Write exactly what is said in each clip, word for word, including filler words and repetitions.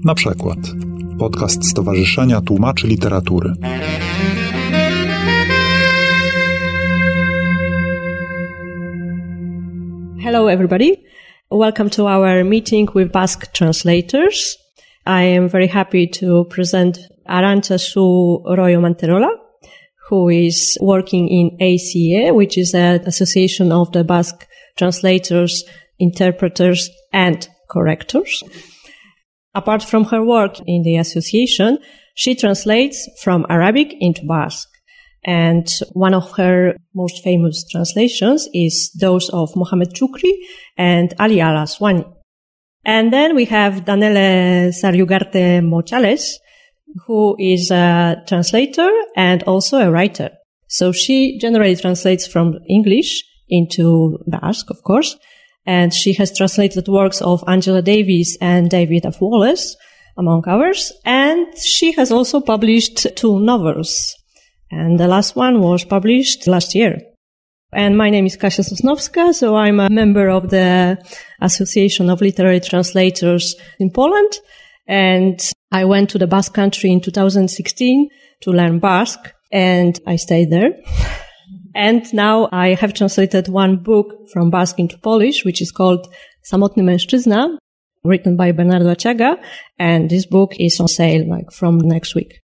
Na przykład podcast Stowarzyszenia Tłumaczy Literatury. Hello everybody. Welcome to our meeting with Basque translators. I am very happy to present Arantxa Su Royo Manterola, who is working in A C E, which is an association of the Basque translators, interpreters, and correctors. Apart from her work in the association, she translates from Arabic into Basque. And one of her most famous translations is those of Mohamed Chukri and Ali Al-Aswani. And then we have Danele Sarriugarte Mochales, who is a translator and also a writer. So she generally translates from English into Basque, of course. And she has translated works of Angela Davis and David F. Wallace, among others. And she has also published two novels. And the last one was published last year. And my name is Kasia Sosnowska, so I'm a member of the Association of Literary Translators in Poland. And I went to the Basque Country in two thousand sixteen to learn Basque, and I stayed there. And now I have translated one book from Basque into Polish, which is called Samotny Mężczyzna, written by Bernardo Aciaga, and this book is on sale like from next week.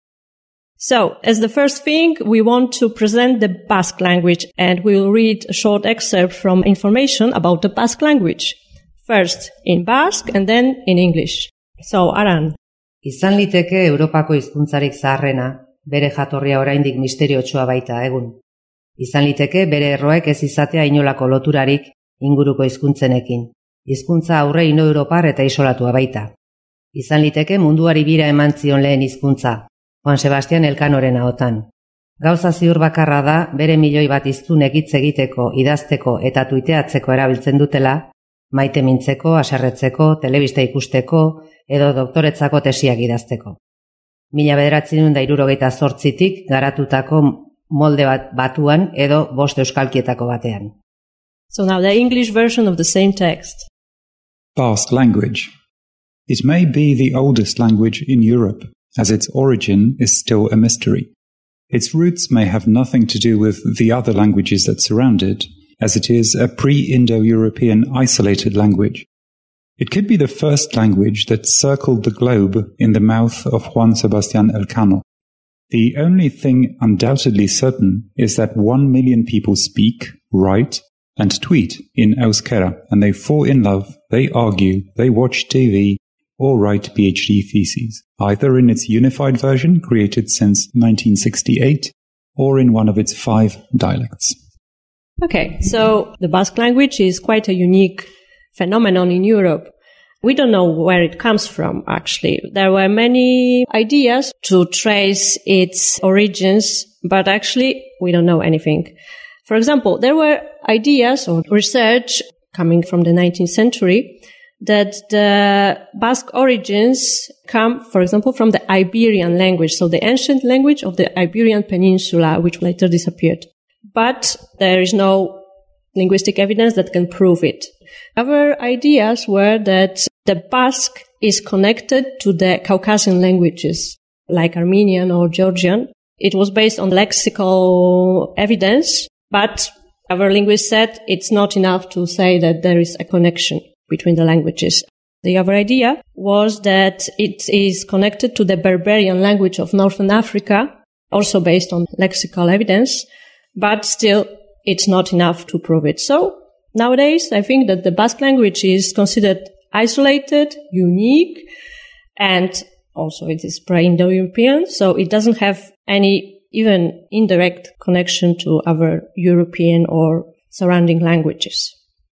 So, as the first thing, we want to present the Basque language, and we'll read a short excerpt from information about the Basque language. First in Basque and then in English. So, Aran. Izan liteke Europako hizkuntzarik zaharrena, bere jatorria oraindik misteriotsua baita egun. Izan liteke bere erroek ez izatea inolako loturarik inguruko hizkuntzenekin. Hizkuntza aurre ino-europar eta isolatua baita. Izan liteke munduari bira eman zion lehen hizkuntza, Juan Sebastian Elkanoren ahotan. Gauza ziur bakarra da bere milioi bat hiztunek hitz egiteko, idazteko eta tuiteatzeko erabiltzen dutela, maite mintzeko, haserretzeko, telebista ikusteko edo doktoretzako tesiak idazteko. Mila bederatziehun eta hirurogeita zortzitik garatutako molde bat batuan edo bost euskalkietako batean. So now the English version of the same text. Basque language. It may be the oldest language in Europe, as its origin is still a mystery. Its roots may have nothing to do with the other languages that surround it, as it is a pre-Indo-European isolated language. It could be the first language that circled the globe in the mouth of Juan Sebastian Elcano. The only thing undoubtedly certain is that one million people speak, write, and tweet in Euskera, and they fall in love, they argue, they watch T V, or write PhD theses, either in its unified version created since nineteen sixty-eight, or in one of its five dialects. Okay, so the Basque language is quite a unique phenomenon in Europe. We don't know where it comes from, actually. There were many ideas to trace its origins, but actually we don't know anything. For example, there were ideas or research coming from the nineteenth century that the Basque origins come, for example, from the Iberian language, so the ancient language of the Iberian Peninsula, which later disappeared. But there is no linguistic evidence that can prove it. Other ideas were that the Basque is connected to the Caucasian languages, like Armenian or Georgian. It was based on lexical evidence, but other linguists said it's not enough to say that there is a connection between the languages. The other idea was that it is connected to the Berberian language of Northern Africa, also based on lexical evidence, but still it's not enough to prove it. So nowadays, I think that the Basque language is considered isolated, unique, and also it is pre-Indo-European, so it doesn't have any even indirect connection to other European or surrounding languages.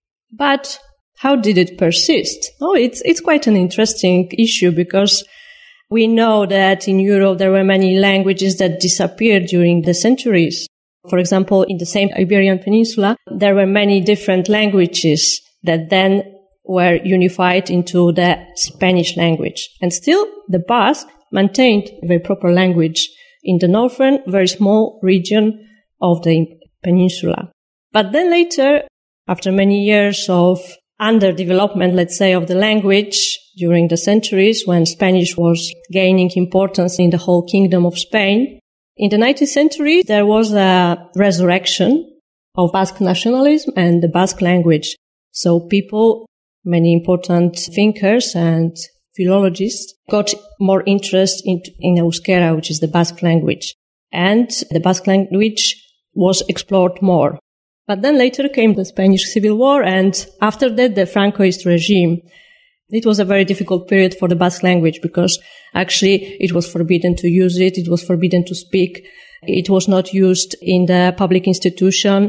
But how did it persist? Oh, it's it's quite an interesting issue because we know that in Europe there were many languages that disappeared during the centuries. For example, in the same Iberian Peninsula, there were many different languages that then were unified into the Spanish language. And still, the Basque maintained a very proper language in the northern, very small region of the peninsula. But then later, after many years of underdevelopment, let's say, of the language, during the centuries when Spanish was gaining importance in the whole kingdom of Spain. In the nineteenth century, there was a resurrection of Basque nationalism and the Basque language. So people, many important thinkers and philologists got more interest in, in Euskera, which is the Basque language. And the Basque language was explored more. But then later came the Spanish Civil War, and after that the Francoist regime. It was a very difficult period for the Basque language because actually it was forbidden to use it, it was forbidden to speak, it was not used in the public institution.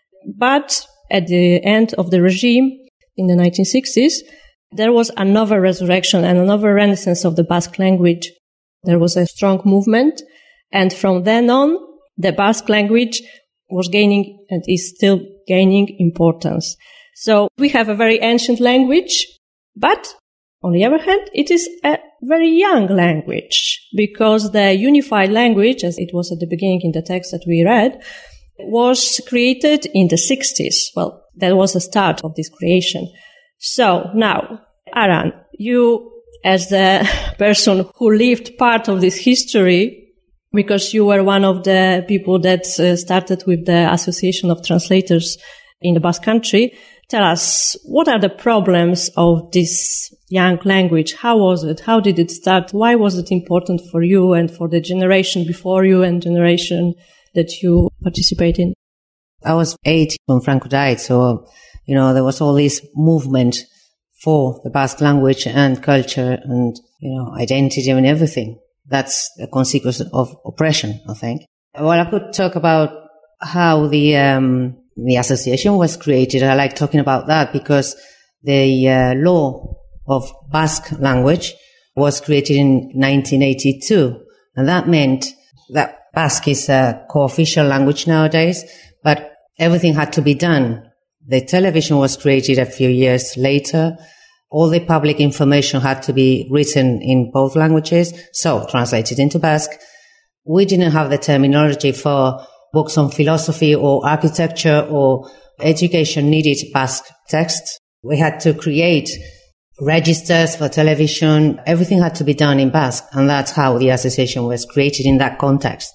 But at the end of the regime, in the nineteen sixties, there was another resurrection and another renaissance of the Basque language. There was a strong movement, and from then on, the Basque language was gaining and is still gaining importance. So we have a very ancient language, but on the other hand, it is a very young language because the unified language, as it was at the beginning in the text that we read, was created in the sixties. Well, that was the start of this creation. So now, Aran, you as the person who lived part of this history, because you were one of the people that uh, started with the Association of Translators in the Basque Country, tell us, what are the problems of this young language? How was it? How did it start? Why was it important for you and for the generation before you and generation that you participate in? I was eight when Franco died, so, you know, there was all this movement for the Basque language and culture and, you know, identity and everything. That's a consequence of oppression, I think. Well, I could talk about how the um, the association was created. I like talking about that because the uh, law of Basque language was created in nineteen eighty-two, and that meant that Basque is a co-official language nowadays, but everything had to be done. The television was created a few years later. All the public information had to be written in both languages, so translated into Basque. We didn't have the terminology for books on philosophy or architecture or education needed Basque texts. We had to create registers for television. Everything had to be done in Basque, and that's how the association was created in that context.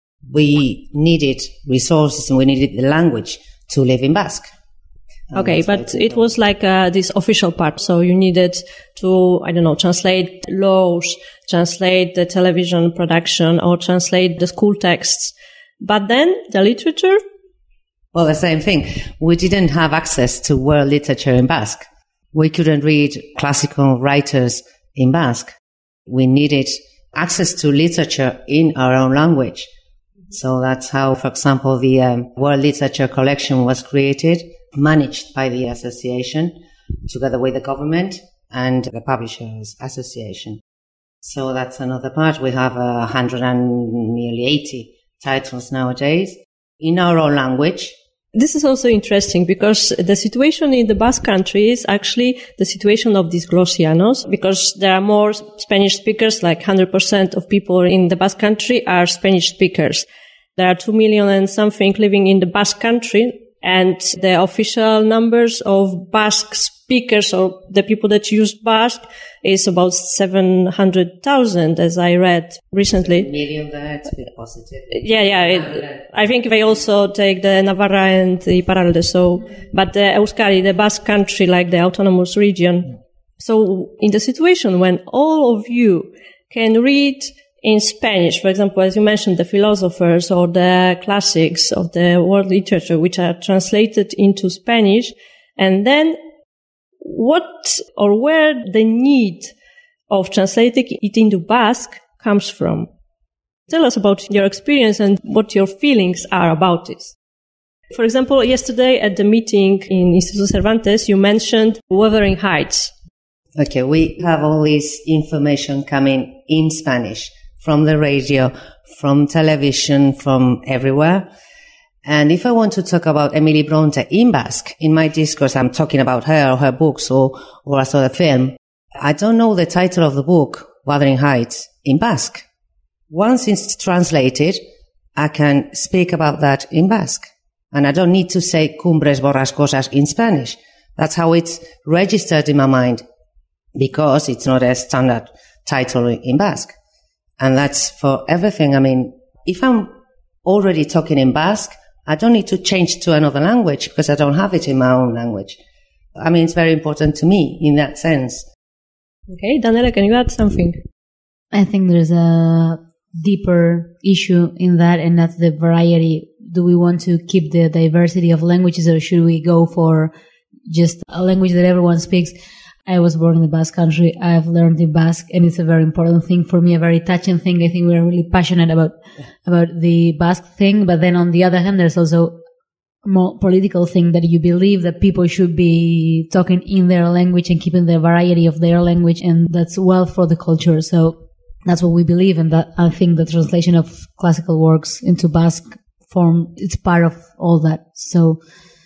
We needed resources and we needed the language to live in Basque. Okay, but it was like uh, this official part. So you needed to, I don't know, translate laws, translate the television production, or translate the school texts. But then the literature? Well, the same thing. We didn't have access to world literature in Basque. We couldn't read classical writers in Basque. We needed access to literature in our own language. So that's how, for example, the um, world literature collection was created, managed by the association together with the government and the Publishers Association. So that's another part. We have a hundred and nearly eighty titles nowadays in our own language. This is also interesting because the situation in the Basque Country is actually the situation of these Glosianos, because there are more Spanish speakers, like one hundred percent of people in the Basque Country are Spanish speakers. There are two million and something living in the Basque Country, and the official numbers of Basque speakers, or the people that use Basque, is about seven hundred thousand, as I read recently. A million, that's a bit positive. Yeah, yeah. It, I think they also take the Navarra and the Iparralde, so, but the Euskadi, the Basque Country, like the autonomous region. So in the situation when all of you can read in Spanish, for example, as you mentioned, the philosophers or the classics of the world literature, which are translated into Spanish, and then what or where the need of translating it into Basque comes from. Tell us about your experience and what your feelings are about this. For example, yesterday at the meeting in Instituto Cervantes, you mentioned Wuthering Heights. Okay, we have all this information coming in Spanish from the radio, from television, from everywhere. And if I want to talk about Emily Bronte in Basque, in my discourse, I'm talking about her or her books or, or I saw the film. I don't know the title of the book, Wuthering Heights, in Basque. Once it's translated, I can speak about that in Basque. And I don't need to say Cumbres Borrascosas in Spanish. That's how it's registered in my mind. because it's not a standard title in Basque. And that's for everything. I mean, if I'm already talking in Basque, I don't need to change to another language because I don't have it in my own language. I mean, it's very important to me in that sense. Okay, Daniela, can you add something? I think there's a deeper issue in that, and that's the variety. Do we want to keep the diversity of languages, or should we go for just a language that everyone speaks? I was born in the Basque country. I've learned in Basque, and it's a very important thing for me, a very touching thing. I think we're really passionate about, about the Basque thing. But then on the other hand, there's also a more political thing that you believe that people should be talking in their language and keeping the variety of their language. And that's well for the culture. So that's what we believe. And that I think the translation of classical works into Basque form, it's part of all that. So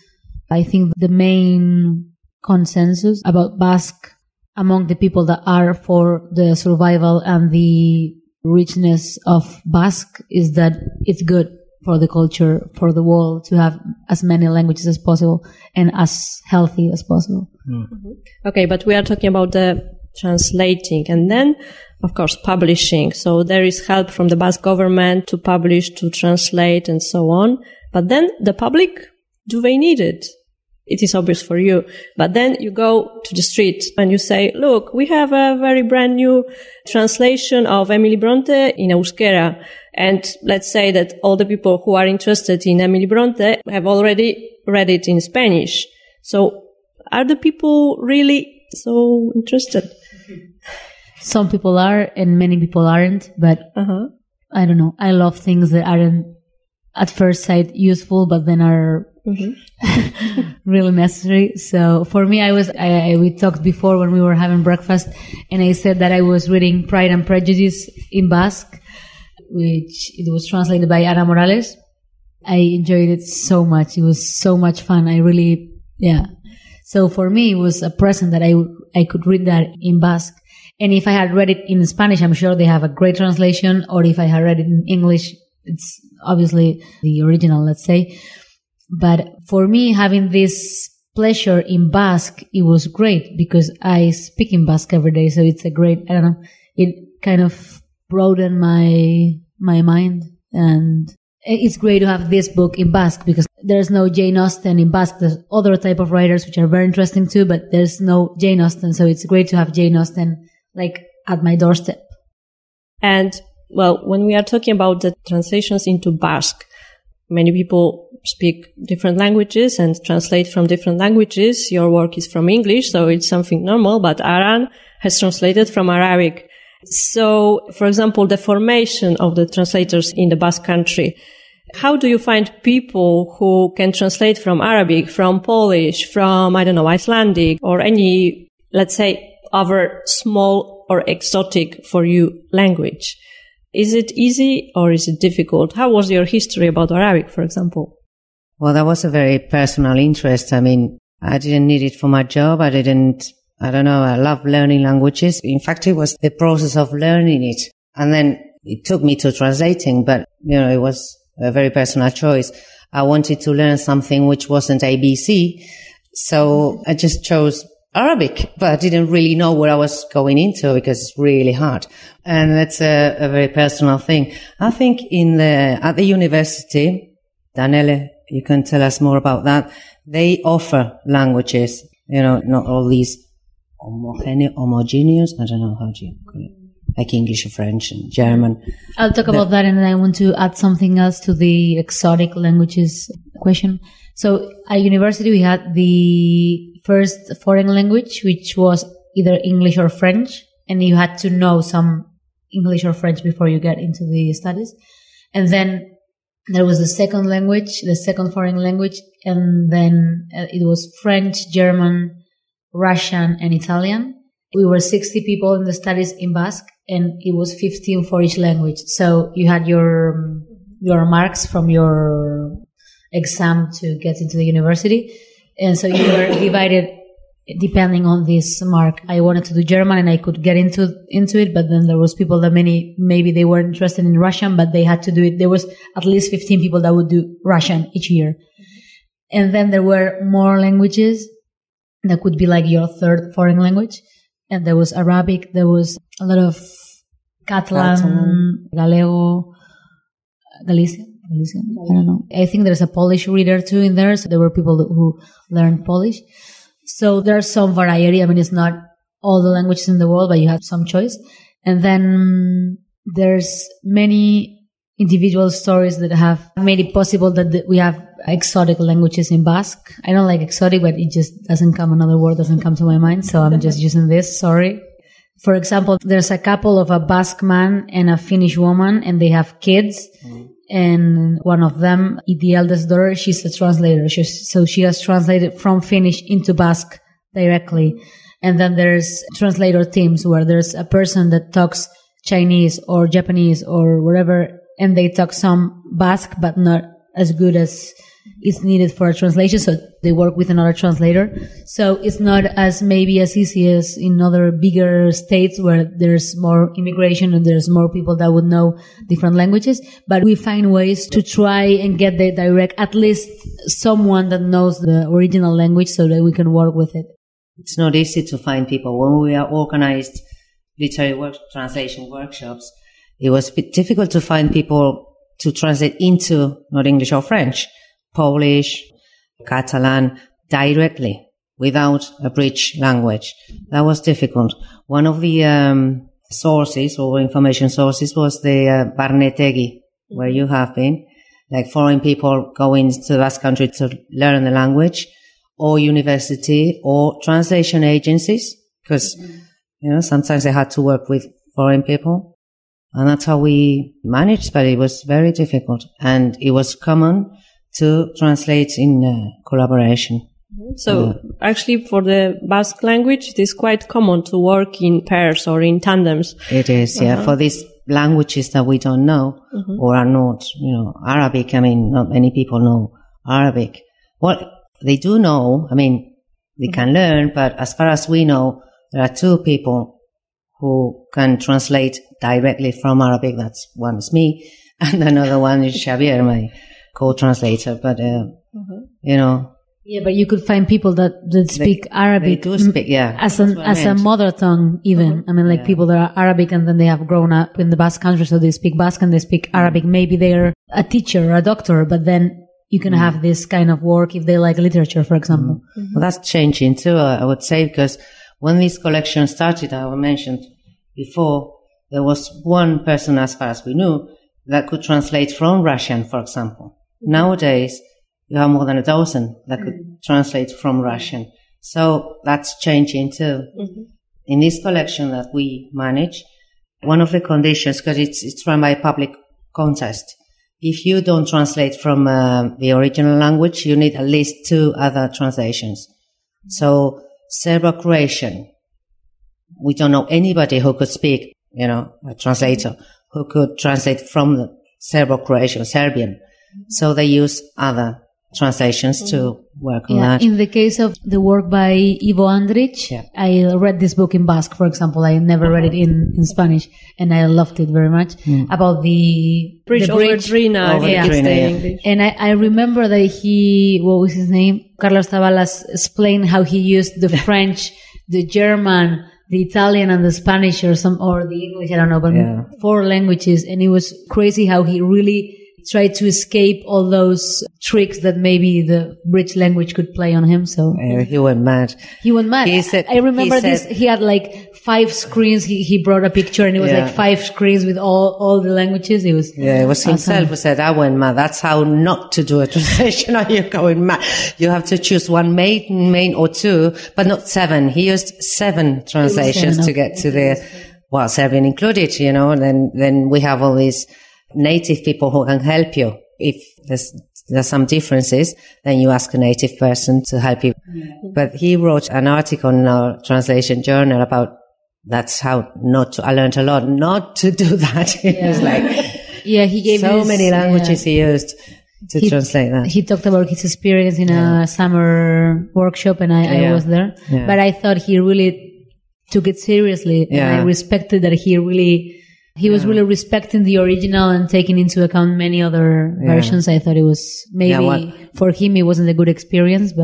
I think the main consensus about Basque among the people that are for the survival and the richness of Basque is that it's good for the culture, for the world, to have as many languages as possible and as healthy as possible. Mm-hmm. Okay, but we are talking about the translating and then, of course, publishing. So there is help from the Basque government to publish, to translate, and so on. But then the public, do they need it? It is obvious for you. But then you go to the street and you say, look, we have a very brand new translation of Emily Bronte in Euskera. And let's say that all the people who are interested in Emily Bronte have already read it in Spanish. So are the people really so interested? Some people are and many people aren't, but uh-huh. I don't know. I love things that aren't at first sight useful, but then are mm-hmm. really necessary. So for me, I was, I, I, we talked before when we were having breakfast, and I said that I was reading Pride and Prejudice in Basque, which it was translated by Ana Morales. I enjoyed it so much. It was so much fun. I really, yeah. So for me, it was a present that I, I could read that in Basque. And if I had read it in Spanish, I'm sure they have a great translation. Or if I had read it in English, it's obviously the original, let's say. But for me, having this pleasure in Basque, it was great because I speak in Basque every day. So it's a great, I don't know, it kind of broadened my, my mind. And it's great to have this book in Basque because there's no Jane Austen in Basque. There's other type of writers which are very interesting too, but there's no Jane Austen. So it's great to have Jane Austen like at my doorstep. And well, when we are talking about the translations into Basque, many people speak different languages and translate from different languages. Your work is from English, so it's something normal, but Aran has translated from Arabic. So, for example, the formation of the translators in the Basque country, how do you find people who can translate from Arabic, from Polish, from, I don't know, Icelandic, or any, let's say, other small or exotic for you language? Is it easy or is it difficult? How was your history about Arabic, for example? Well, that was a very personal interest. I mean, I didn't need it for my job. I didn't, I don't know, I love learning languages. In fact, it was the process of learning it. And then it took me to translating, but, you know, it was a very personal choice. I wanted to learn something which wasn't A B C. So I just chose Arabic, but I didn't really know what I was going into because it's really hard. And that's a, a very personal thing. I think in the, at the university, Daniele, you can tell us more about that. They offer languages, you know, not all these homogene- homogeneous, I don't know how to call it, like English, French, and German. I'll talk the, about that, and then I want to add something else to the exotic languages question. So at university, we had the first foreign language, which was either English or French, and you had to know some English or French before you get into the studies. And then there was the second language, the second foreign language, and then it was French, German, Russian, and Italian. We were sixty people in the studies in Basque, and it was fifteen for each language. So you had your your marks from your exam to get into the university. And so you were divided depending on this mark. I wanted to do German and I could get into into it, but then there was people that many, maybe they weren't interested in Russian, but they had to do it. There was at least fifteen people that would do Russian each year. And then there were more languages that could be like your third foreign language. and there was Arabic, there was a lot of Catalan, Catalan. Gallego, Galician, Galician, I don't know. I think there's a Polish reader too in there, so there were people who learned Polish. So there's some variety. I mean, it's not all the languages in the world, but you have some choice. And then there's many individual stories that have made it possible that we have exotic languages in Basque. I don't like exotic, but it just doesn't come, another word doesn't come to my mind, so I'm just using this, sorry. For example, there's a couple of a Basque man and a Finnish woman, and they have kids. Mm. And one of them, the eldest daughter, she's a translator. She's, so she has translated from Finnish into Basque directly. And then there's translator teams where there's a person that talks Chinese or Japanese or whatever, and they talk some Basque, but not as good as is needed for a translation. So they work with another translator. So it's not as maybe as easy as in other bigger states where there's more immigration and there's more people that would know different languages. But we find ways to try and get the direct, at least someone that knows the original language so that we can work with it. It's not easy to find people. When we organized literary work, translation workshops, it was a bit difficult to find people to translate into not English or French, Polish, Catalan, directly, without a bridge language. That was difficult. One of the um, sources or information sources was the uh, Barnetegi, where you have been, like foreign people going to the Basque Country to learn the language, or university, or translation agencies, because, you know, sometimes they had to work with foreign people. And that's how we managed, but it was very difficult. And it was common to translate in uh, collaboration. So uh, actually for the Basque language, it is quite common to work in pairs or in tandems. It is, uh-huh. yeah. For these languages that we don't know mm-hmm. or are not, you know, Arabic, I mean, not many people know Arabic. Well, they do know, I mean, they mm-hmm. can learn, but as far as we know, there are two people who can translate directly from Arabic. That's one is me, and another one is Xavier, my co-translator. But, uh, mm-hmm. you know. Yeah, but you could find people that, that speak they, Arabic. They do speak, yeah. As, an, as a mother tongue, even. Mm-hmm. I mean, like yeah. people that are Arabic and then they have grown up in the Basque country, so they speak Basque and they speak mm-hmm. Arabic. Maybe they're a teacher or a doctor, but then you can mm-hmm. have this kind of work if they like literature, for example. Mm-hmm. Well, that's changing too, I would say, because when this collection started, I mentioned before, there was one person, as far as we knew, that could translate from Russian, for example. Mm-hmm. Nowadays, you have more than a dozen that could mm-hmm. translate from Russian. So that's changing too. Mm-hmm. In this collection that we manage, one of the conditions, because it's, it's run by a public contest, if you don't translate from uh, the original language, you need at least two other translations. Mm-hmm. So Serbo-Croatian, we don't know anybody who could speak, you know, a translator, who could translate from the Serbo-Croatian, Serbian. So they use other translations to work on yeah, that. In the case of the work by Ivo Andrić, yeah. I read this book in Basque, for example. I never read it in, in Spanish, and I loved it very much. Mm. About the bridge, the bridge over Drina. Over yeah. Drina, yeah. English. And I, I remember that he, what was his name? Carlos Tavalas explained how he used the French, the German, the Italian and the Spanish or some, or the English, I don't know, but yeah. four languages. And it was crazy how he really tried to escape all those tricks that maybe the bridge language could play on him. So uh, he went mad. He went mad. He said, I remember he this. said, he had like five screens. He he brought a picture, and it was yeah. like five screens with all all the languages. It was yeah. It was awesome. Himself who said, "I went mad." That's how not to do a translation. Are you going mad? You have to choose one main, main or two, but not seven. He used seven translations seven, to get to the well, Serbian included. You know, and then then we have all these native people who can help you. If there's, there's some differences, then you ask a native person to help you. Mm-hmm. But he wrote an article in our translation journal about that's how not to, I learned a lot not to do that. It yeah. was like, yeah, he gave so his, many languages yeah. he used to he, translate that. He talked about his experience in yeah. a summer workshop, and I, yeah. I was there. Yeah. But I thought he really took it seriously, yeah. and I respected that he really, he was yeah. really respecting the original and taking into account many other yeah. versions. I thought it was maybe yeah, for him it wasn't a good experience, but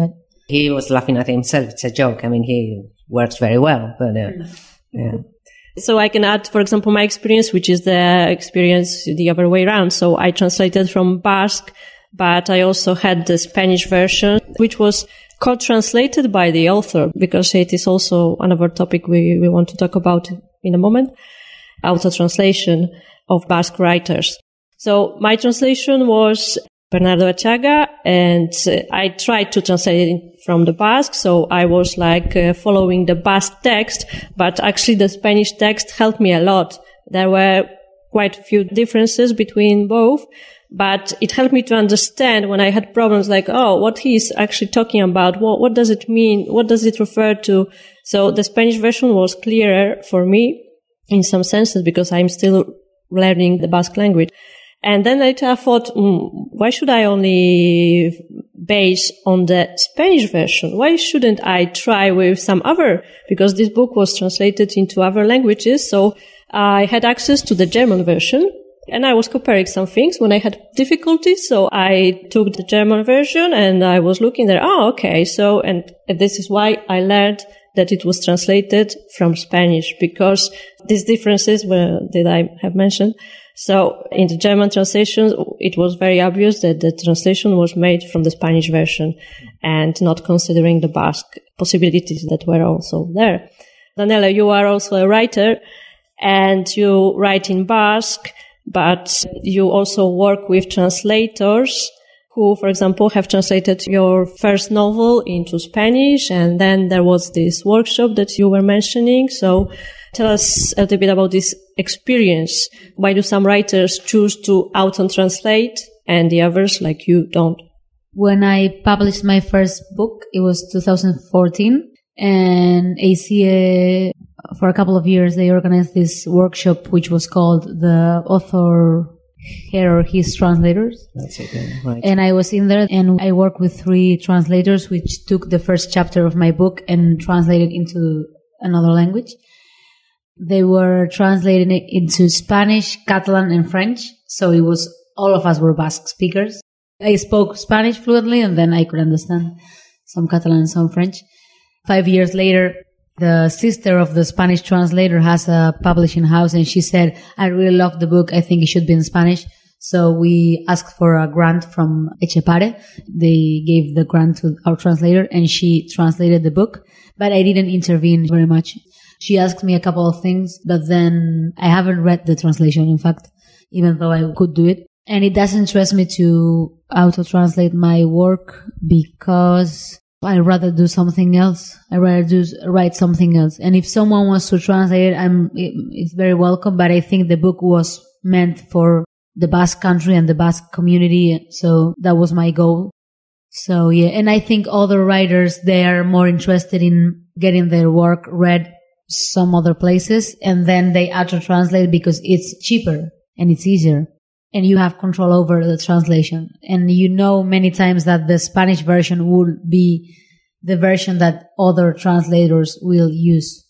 He was laughing at himself. It's a joke. I mean, he works very well, but uh, yeah. So I can add, for example, my experience, which is the experience the other way around. So I translated from Basque, but I also had the Spanish version, which was co-translated by the author, because it is also another topic we, we want to talk about in a moment, auto-translation of Basque writers. So my translation was Bernardo Achaga, and uh, I tried to translate it from the Basque, so I was like uh, following the Basque text, but actually the Spanish text helped me a lot. There were quite a few differences between both, but it helped me to understand when I had problems like, oh, what he's actually talking about, what, what does it mean, what does it refer to? So the Spanish version was clearer for me in some senses because I'm still learning the Basque language. And then later I thought, mm, why should I only base on the Spanish version? Why shouldn't I try with some other? Because this book was translated into other languages, so I had access to the German version, and I was comparing some things when I had difficulties. So I took the German version and I was looking there. Oh, okay. So, and this is why I learned that it was translated from Spanish, because these differences were, that I have mentioned. So in the German translation, it was very obvious that the translation was made from the Spanish version and not considering the Basque possibilities that were also there. Daniela, you are also a writer and you write in Basque, but you also work with translators who, for example, have translated your first novel into Spanish, and then there was this workshop that you were mentioning. So tell us a little bit about this experience. Why do some writers choose to auto-translate and the others, like you, don't? When I published my first book, it was two thousand fourteen, and A C A, for a couple of years, they organized this workshop, which was called the Author Her or His Translators. That's it, yeah, right. And I was in there, and I worked with three translators, which took the first chapter of my book and translated into another language. They were translating it into Spanish, Catalan, and French. So it was, all of us were Basque speakers. I spoke Spanish fluently, and then I could understand some Catalan and some French. Five years later, the sister of the Spanish translator has a publishing house, and she said, I really love the book. I think it should be in Spanish. So we asked for a grant from Etxepare. They gave the grant to our translator, and she translated the book. But I didn't intervene very much. She asked me a couple of things, but then I haven't read the translation, in fact, even though I could do it. And it doesn't interest me to auto-translate my work because I'd rather do something else. I'd rather do, write something else. And if someone wants to translate it, I'm, it, it's very welcome, but I think the book was meant for the Basque country and the Basque community. So that was my goal. So yeah, and I think other writers, they are more interested in getting their work read some other places, and then they auto-translate because it's cheaper and it's easier. And you have control over the translation. And you know many times that the Spanish version will be the version that other translators will use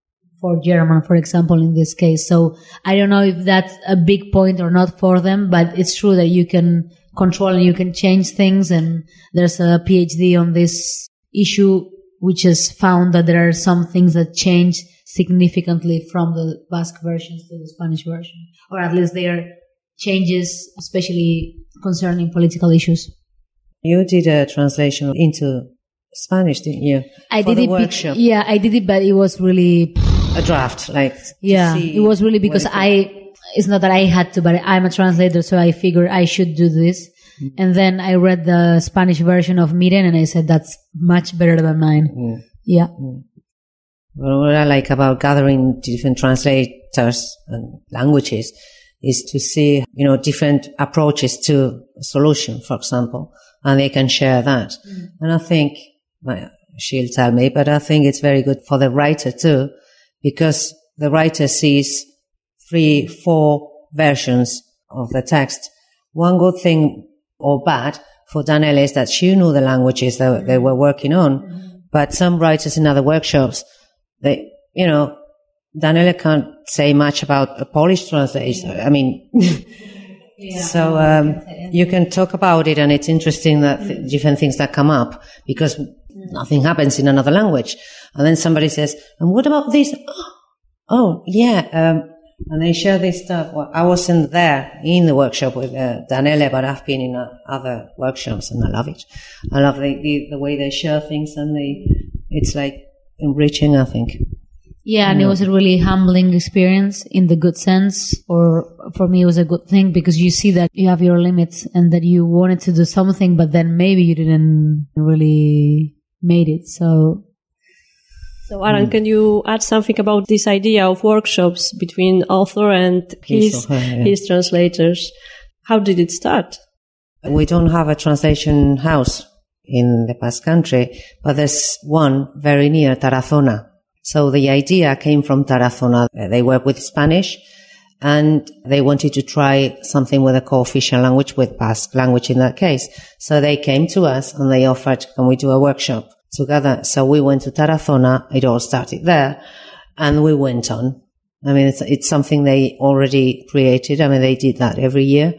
for German, for example, in this case. So I don't know if that's a big point or not for them, but it's true that you can control and you can change things. And there's a PhD on this issue, which has found that there are some things that change significantly from the Basque versions to the Spanish version, or at least they are changes, especially concerning political issues. You did a translation into Spanish, didn't you? I For did the it. workshop. Be- yeah, I did it, but it was really a draft, like yeah, it was really because I. It's not that I had to, but I'm a translator, so I figured I should do this. Mm-hmm. And then I read the Spanish version of Miren, and I said that's much better than mine. Mm. Yeah. Mm. Well, what I like about gathering different translators and languages is to see, you know, different approaches to a solution, for example, and they can share that. Mm. And I think, well, she'll tell me, but I think it's very good for the writer too, because the writer sees three, four versions of the text. One good thing or bad for Daniela is that she knew the languages that mm. they were working on, mm. but some writers in other workshops, they, you know, Daniela can't say much about a Polish translation. I mean, yeah, so um, you can talk about it, and it's interesting that th- different things that come up, because Nothing happens in another language. And then somebody says, and what about this? Oh, yeah. Um, and they share this stuff. Well, I wasn't there in the workshop with uh, Daniele, but I've been in uh, other workshops and I love it. I love the, the, the way they share things and they, it's like enriching, I think. Yeah, and it was a really humbling experience in the good sense, or for me it was a good thing because you see that you have your limits and that you wanted to do something, but then maybe you didn't really made it. So, so Aaron, mm. can you add something about this idea of workshops between author and his, her, yeah. his translators? How did it start? We don't have a translation house in the Basque Country, but there's one very near Tarazona. So the idea came from Tarazona. They work with Spanish and they wanted to try something with a co-official language, with Basque language in that case. So they came to us and they offered, can we do a workshop together? So we went to Tarazona. It all started there and we went on. I mean, it's, it's something they already created. I mean, they did that every year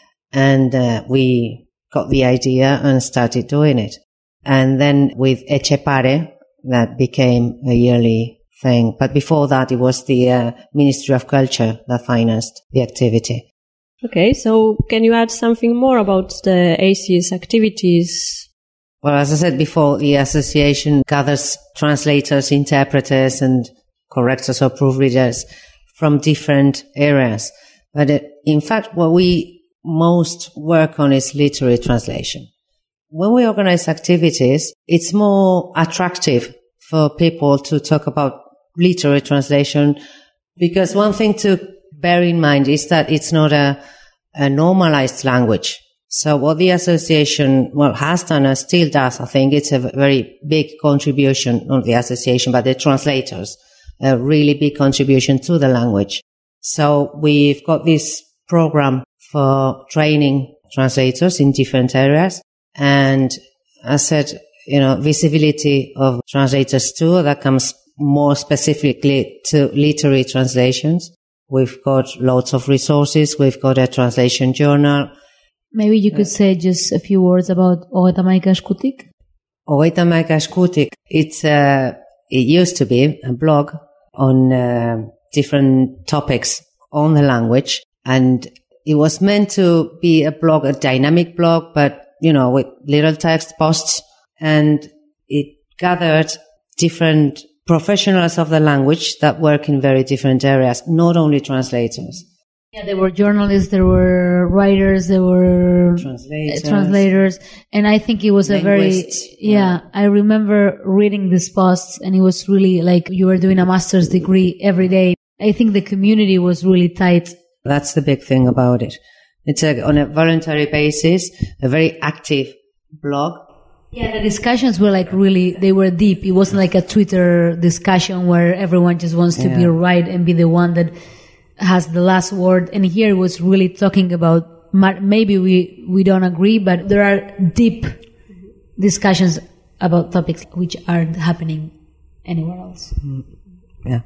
and uh, we got the idea and started doing it. And then with Echepare, that became a yearly thing. But before that, it was the uh, Ministry of Culture that financed the activity. Okay, so can you add something more about the A C S activities? Well, as I said before, the association gathers translators, interpreters, and correctors or proofreaders from different areas. But uh, in fact, what we most work on is literary translation. When we organize activities, it's more attractive for people to talk about literary translation because one thing to bear in mind is that it's not a, a normalized language. So what the association, well, has done and still does, I think it's a very big contribution, not the association, but the translators, a really big contribution to the language. So we've got this program for training translators in different areas. And I said, you know, visibility of translators too, that comes more specifically to literary translations. We've got lots of resources. We've got a translation journal. Maybe you could say just a few words about Hogeita Hamaika Eskutik. Hogeita Hamaika Eskutik, it's uh it used to be a blog on uh, different topics on the language. And it was meant to be a blog, a dynamic blog, but you know, with little text posts, and it gathered different professionals of the language that work in very different areas, not only translators. Yeah, there were journalists, there were writers, there were translators, uh, translators and I think it was a very, yeah, yeah, I remember reading these posts and it was really like you were doing a master's degree every day. I think the community was really tight. That's the big thing about it. It's a, on a voluntary basis, a very active blog. Yeah, the discussions were like really, they were deep. It wasn't like a Twitter discussion where everyone just wants to yeah. be right and be the one that has the last word. And here it was really talking about, maybe we, we don't agree, but there are deep discussions about topics which aren't happening anywhere else. Yeah.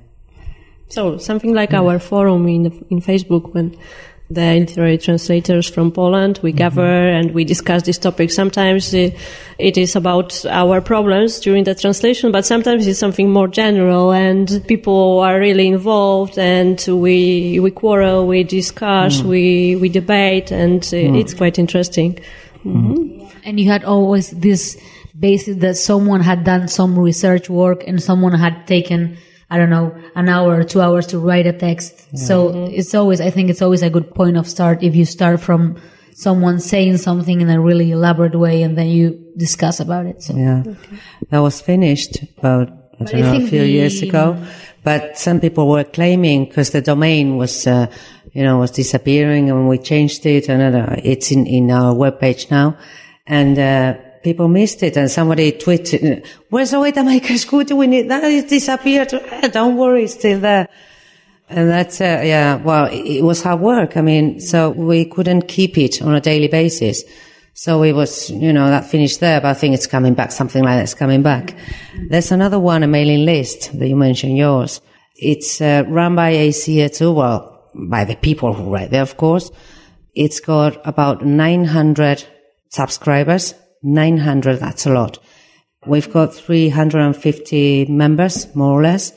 So something like yeah. our forum in, in Facebook when the literary translators from Poland, we mm-hmm. gather and we discuss this topic. Sometimes uh, it is about our problems during the translation, but sometimes it's something more general and people are really involved and we we quarrel, we discuss, mm. we, we debate, and uh, mm. it's quite interesting. Mm-hmm. And you had always this basis that someone had done some research work and someone had taken, I don't know, an hour or two hours to write a text. Yeah. So mm-hmm. it's always, I think it's always a good point of start if you start from someone saying something in a really elaborate way and then you discuss about it. So. Yeah. Okay. That was finished about, I don't know, I a few the, years ago. But some people were claiming, because the domain was, uh, you know, was disappearing and we changed it and uh, it's in, in our webpage now. And, uh, people missed it, and somebody tweeted, "Where's Hogeita Hamaika Eskutik? We need that. It disappeared." Eh, don't worry, it's still there. And that's uh, yeah. Well, it, it was hard work. I mean, so we couldn't keep it on a daily basis. So it was, you know, that finished there. But I think it's coming back. Something like that's coming back. There's another one, a mailing list that you mentioned. Yours. It's uh, run by A C A too. Well, by the people who write there, of course. It's got about nine hundred subscribers. nine hundred, that's a lot. We've got three hundred fifty members, more or less.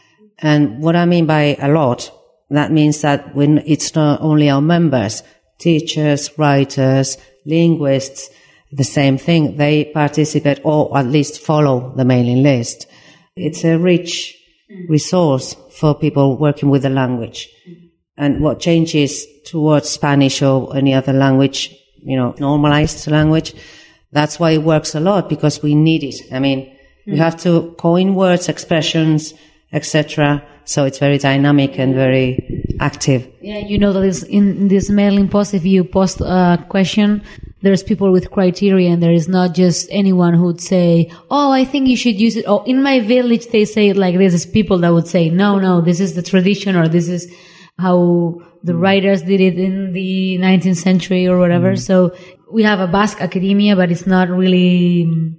And what I mean by a lot, that means that when it's not only our members, teachers, writers, linguists, the same thing, they participate or at least follow the mailing list. It's a rich resource for people working with the language. And what changes towards Spanish or any other language, you know, normalized language, that's why it works a lot, because we need it. I mean, mm. we have to coin words, expressions, et cetera. So it's very dynamic and very active. Yeah, you know that is in this mailing post, if you post a question, there's people with criteria, and there is not just anyone who would say, oh, I think you should use it. Oh, in my village, they say it like this. Is people that would say, no, no, this is the tradition, or this is how the writers did it in the nineteenth century or whatever. Mm. So we have a Basque academia, but it's not really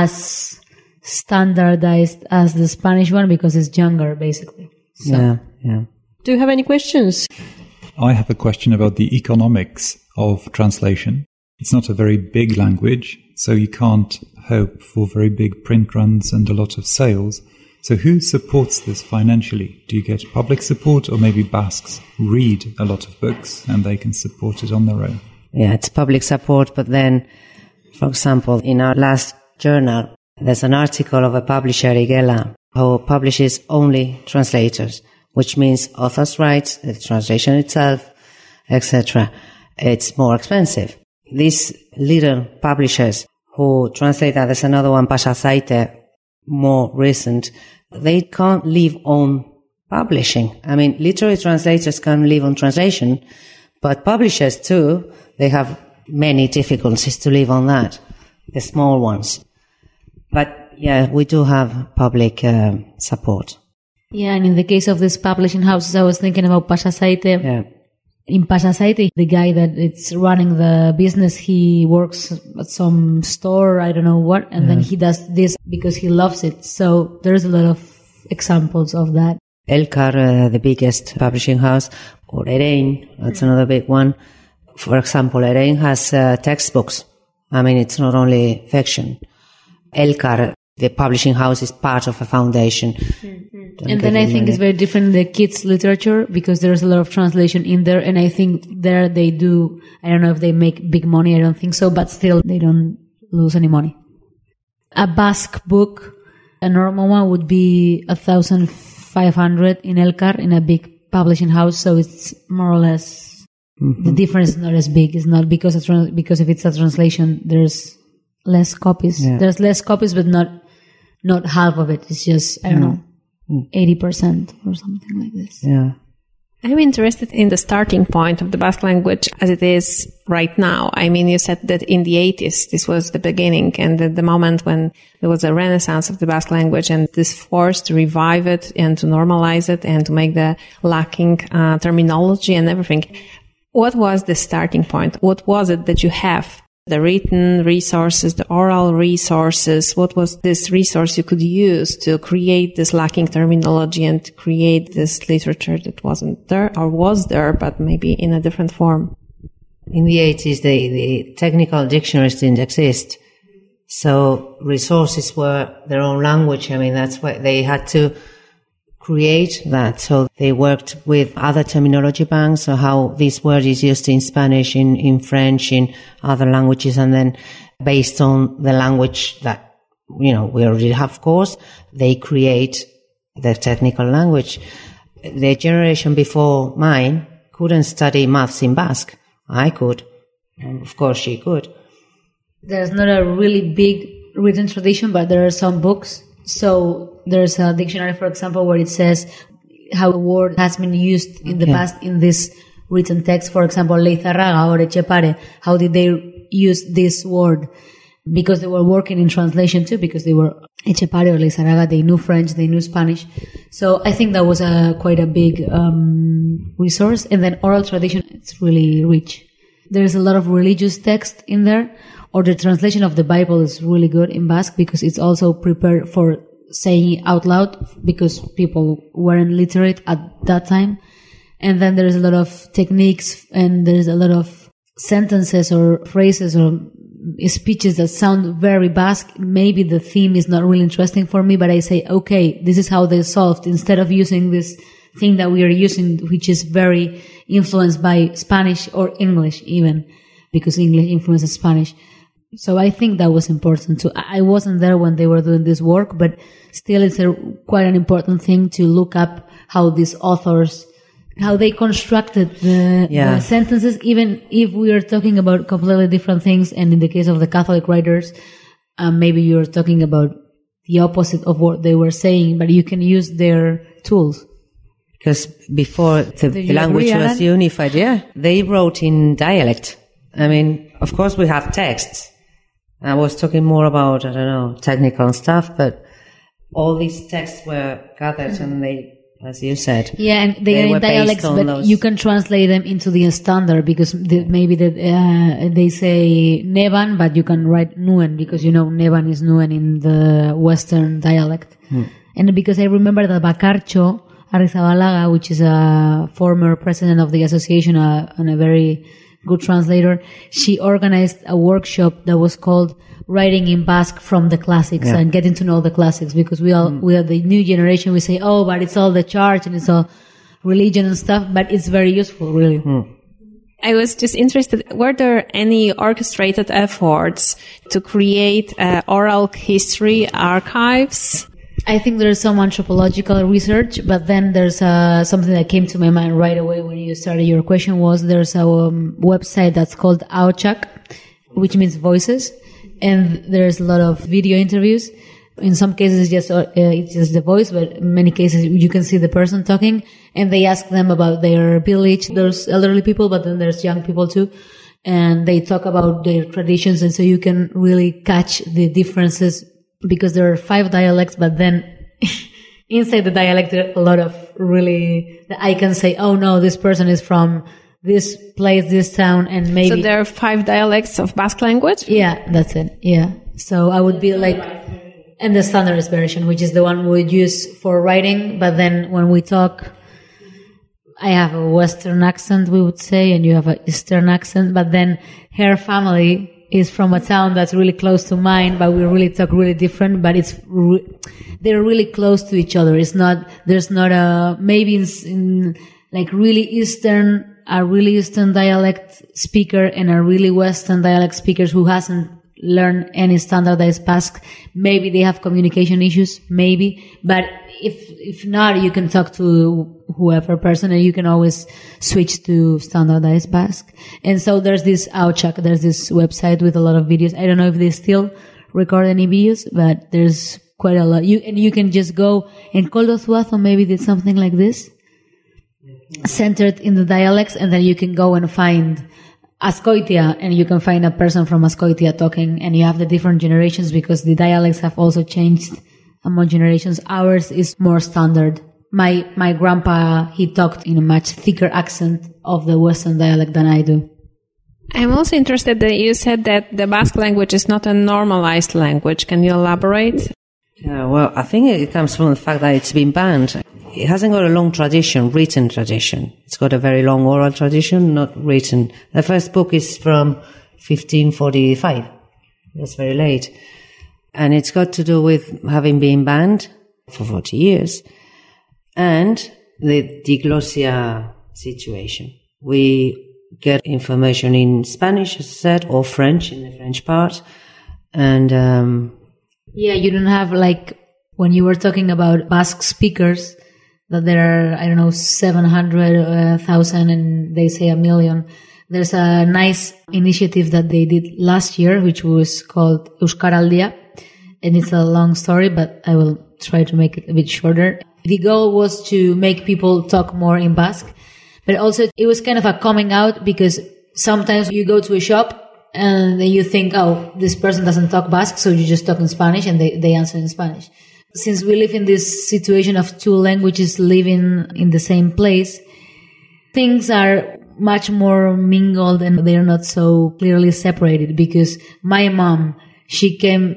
as standardized as the Spanish one because it's younger, basically. So. Yeah, yeah. Do you have any questions? I have a question about the economics of translation. It's not a very big language, so you can't hope for very big print runs and a lot of sales. So who supports this financially? Do you get public support, or maybe Basques read a lot of books and they can support it on their own? Yeah, it's public support, but then, for example, in our last journal, there's an article of a publisher, Igela, who publishes only translators, which means authors' rights, the translation itself, et cetera. It's more expensive. These little publishers who translate that, there's another one, Pasazaite, more recent, they can't live on publishing. I mean, literary translators can live on translation, but publishers too, they have many difficulties to live on that, the small ones. But yeah, we do have public uh, support. Yeah, and in the case of these publishing houses, I was thinking about Pasazaite. Yeah. In Pasazaite, the guy that is running the business, he works at some store, I don't know what, and yeah. then he does this because he loves it. So there's a lot of examples of that. Elkar, uh, the biggest publishing house, or Erein, that's mm-hmm. another big one. For example, Erein has uh, textbooks. I mean, it's not only fiction. Elkar, the publishing house, is part of a foundation. Mm-hmm. And then I think it's very different in the kids' literature, because there's a lot of translation in there, and I think there they do, I don't know if they make big money, I don't think so, but still they don't lose any money. A Basque book, a normal one would be one thousand five hundred in Elkar, in a big publishing house, so it's more or less, mm-hmm. the difference is not as big. It's not because of, trans- because if it's a translation, there's less copies. Yeah. There's less copies, but not not half of it. It's just, I don't mm. know, eighty percent or something like this. Yeah. I'm interested in the starting point of the Basque language as it is right now. I mean, you said that in the eighties, this was the beginning and the, the moment when there was a renaissance of the Basque language, and this force to revive it and to normalize it and to make the lacking uh, terminology and everything. What was the starting point? What was it that you have? The written resources, the oral resources, what was this resource you could use to create this lacking terminology and to create this literature that wasn't there or was there, but maybe in a different form? In the eighties, the, the technical dictionaries didn't exist. So resources were their own language. I mean, that's why they had to create that. So they worked with other terminology banks, so how this word is used in Spanish, in, in French, in other languages, and then based on the language that, you know, we already have, of course, they create the technical language. The generation before mine couldn't study maths in Basque. I could. And of course she could. There's not a really big written tradition, but there are some books. So there's a dictionary, for example, where it says how a word has been used in the okay. past in this written text. For example, Leizarraga or Etxepare, how did they use this word? Because they were working in translation too, because they were Etxepare or Leizarraga, they knew French, they knew Spanish. So I think that was a quite a big um resource. And then oral tradition, it's really rich. There's a lot of religious text in there. Or the translation of the Bible is really good in Basque because it's also prepared for saying it out loud because people weren't literate at that time. And then there's a lot of techniques and there's a lot of sentences or phrases or speeches that sound very Basque, maybe the theme is not really interesting for me, but I say, okay, this is how they solved, instead of using this thing that we are using, which is very influenced by Spanish or English even, because English influences Spanish. So I think that was important too. I wasn't there when they were doing this work, but still it's a, quite an important thing to look up how these authors, how they constructed the, yeah. the sentences, even if we are talking about completely different things. And in the case of the Catholic writers, um, maybe you're talking about the opposite of what they were saying, but you can use their tools. Because before the, the language agree, was unified, yeah, they wrote in dialect. I mean, of course we have texts. I was talking more about, I don't know, technical stuff, but all these texts were gathered and they, as you said. Yeah, and they, they are were in dialects, but those. You can translate them into the standard, because the, maybe the, uh, they say Nevan, but you can write Nuen, because you know Nevan is Nuen in the Western dialect. Hmm. And because I remember that Bacarcho Arrizabalaga, which is a former president of the association uh, and a very good translator, she organized a workshop that was called Writing in Basque from the Classics, yeah. and getting to know the classics, because we all, mm. we are the new generation, we say, oh, but it's all the church and it's all religion and stuff, but it's very useful, really. Mm. I was just interested, were there any orchestrated efforts to create uh, oral history archives? I think there's some anthropological research, but then there's uh, something that came to my mind right away when you started your question was there's a um, website that's called Aochak, which means voices. And there's a lot of video interviews. In some cases, it's just, uh, it's just the voice, but in many cases, you can see the person talking, and they ask them about their village. There's elderly people, but then there's young people too. And they talk about their traditions, and so you can really catch the differences, because there are five dialects, but then inside the dialect, there are a lot of really, I can say, oh no, this person is from this place, this town, and maybe... So there are five dialects of Basque language? Yeah, that's it. Yeah. So I would be like... And the standardized version, which is the one we would use for writing, but then when we talk, I have a Western accent, we would say, and you have an Eastern accent, but then her family is from a town that's really close to mine, but we really talk really different, but it's... Re- they're really close to each other. It's not... There's not a... Maybe in, in like really Eastern... a really Eastern dialect speaker and a really Western dialect speaker who hasn't learned any standardized Basque. Maybe they have communication issues, maybe. But if if not, you can talk to whoever person and you can always switch to standardized Basque. And so there's this Aochak, there's this website with a lot of videos. I don't know if they still record any videos, but there's quite a lot. You and you can just go, and Koldo Zuazo maybe did something like this, centered in the dialects, and then you can go and find Azkoitia, and you can find a person from Azkoitia talking, and you have the different generations, because the dialects have also changed among generations. Ours is more standard. My my grandpa, he talked in a much thicker accent of the Western dialect than I do. I'm also interested that you said that the Basque language is not a normalized language. Can you elaborate? Yeah, well, I think it comes from the fact that it's been banned. It hasn't got a long tradition, written tradition. It's got a very long oral tradition, not written. The first book is from fifteen forty-five. That's very late. And it's got to do with having been banned for forty years. And the diglossia situation. We get information in Spanish, as I said, or French, in the French part. And, um... yeah, you don't have, like, when you were talking about Basque speakers, that there are, I don't know, seven hundred thousand uh, and they say a million. There's a nice initiative that they did last year, which was called Euskaraldia. And it's a long story, but I will try to make it a bit shorter. The goal was to make people talk more in Basque, but also it was kind of a coming out, because sometimes you go to a shop and then you think, oh, this person doesn't talk Basque, so you just talk in Spanish, and they, they answer in Spanish. Since we live in this situation of two languages living in the same place, things are much more mingled and they're not so clearly separated, because my mom, she came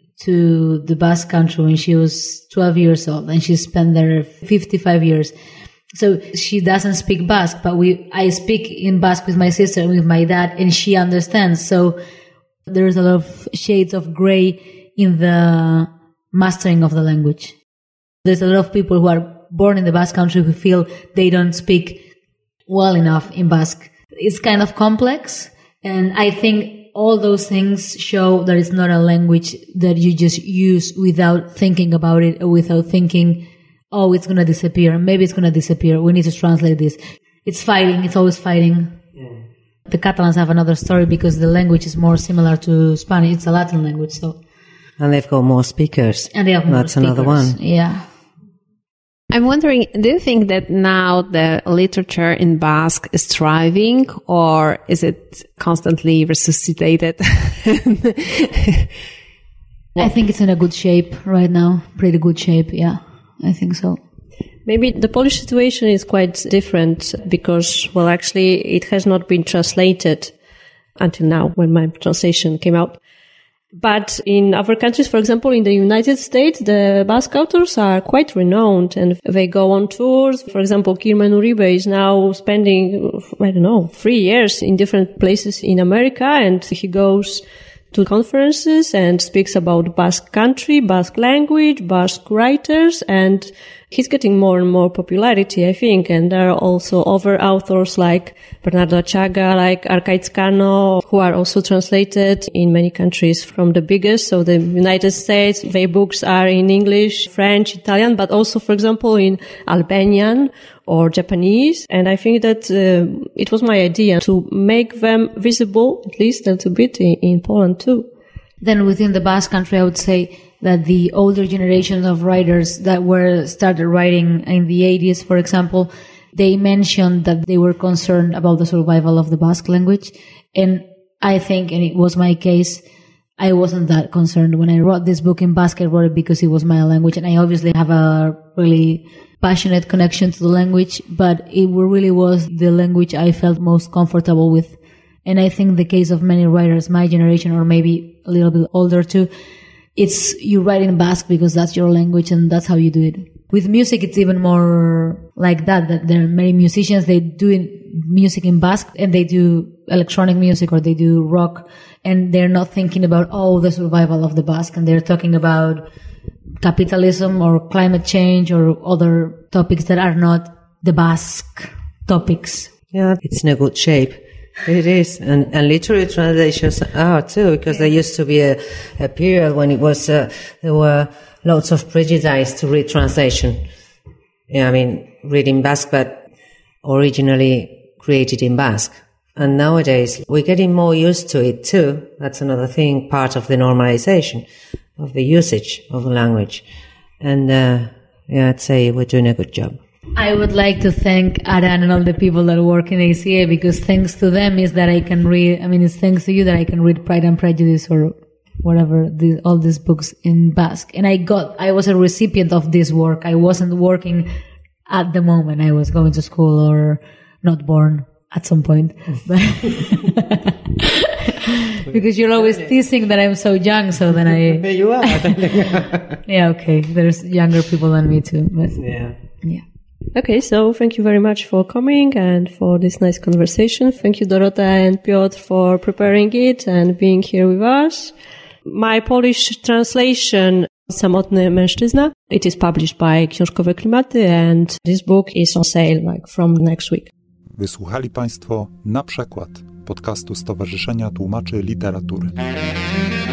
to the Basque country when she was twelve years old, and she spent there fifty-five years. So she doesn't speak Basque, but we, I speak in Basque with my sister and with my dad, and she understands. So there's a lot of shades of gray in the mastering of the language. There's a lot of people who are born in the Basque country who feel they don't speak well enough in Basque. It's kind of complex, and I think all those things show that it's not a language that you just use without thinking about it or without thinking, oh, it's going to disappear. Maybe it's going to disappear. We need to translate this. It's fighting. It's always fighting. Yeah. The Catalans have another story because the language is more similar to Spanish. It's a Latin language, so. And they've got more speakers. And they have more That's speakers. Another one. Yeah. I'm wondering, do you think that now the literature in Basque is thriving, or is it constantly resuscitated? I think it's in a good shape right now. Pretty good shape, yeah. I think so. Maybe the Polish situation is quite different because, well, actually it has not been translated until now when my translation came out. But in other countries, for example, in the United States, the Basque authors are quite renowned and they go on tours. For example, Kirmen Uribe is now spending, I don't know, three years in different places in America, and he goes to conferences and speaks about Basque country, Basque language, Basque writers, and he's getting more and more popularity, I think. And there are also other authors like Bernardo Achaga, like Arcaiz Cano, who are also translated in many countries from the biggest. So the United States, their books are in English, French, Italian, but also, for example, in Albanian or Japanese. And I think that uh, it was my idea to make them visible, at least a little bit, in, in Poland too. Then within the Basque country, I would say that the older generation of writers that were started writing in the eighties, for example, they mentioned that they were concerned about the survival of the Basque language. And I think, and it was my case, I wasn't that concerned. When I wrote this book in Basque, I wrote it because it was my language. And I obviously have a really passionate connection to the language, but it really was the language I felt most comfortable with. And I think the case of many writers, my generation, or maybe a little bit older too, it's you write in Basque because that's your language and that's how you do it. With music, it's even more like that, that there are many musicians, they do music in Basque and they do electronic music or they do rock, and they're not thinking about, oh, the survival of the Basque, and they're talking about capitalism or climate change or other topics that are not the Basque topics. Yeah, it's in a good shape. It is, and, and literary translations are too, because there used to be a, a period when it was, uh, there were lots of prejudice to read translation. Yeah, I mean, reading Basque, but originally created in Basque. And nowadays, we're getting more used to it too. That's another thing, part of the normalization of the usage of the language. And, uh, yeah, I'd say we're doing a good job. I would like to thank Aran and all the people that work in A C A, because thanks to them is that I can read, I mean, it's thanks to you that I can read Pride and Prejudice or whatever, the, all these books in Basque. And I got, I was a recipient of this work. I wasn't working at the moment. I was going to school or not born at some point. Because you're always teasing that I'm so young, so then I... You are. Yeah, okay. There's younger people than me too. But yeah. Yeah. Okay, so thank you very much for coming and for this nice conversation. Thank you, Dorota and Piotr, for preparing it and being here with us. My Polish translation, Samotny Mężczyzna, it is published by Książkowe Klimaty, and this book is on sale like from next week. Wysłuchali Państwo Na Przekład podcastu Stowarzyszenia Tłumaczy Literatury.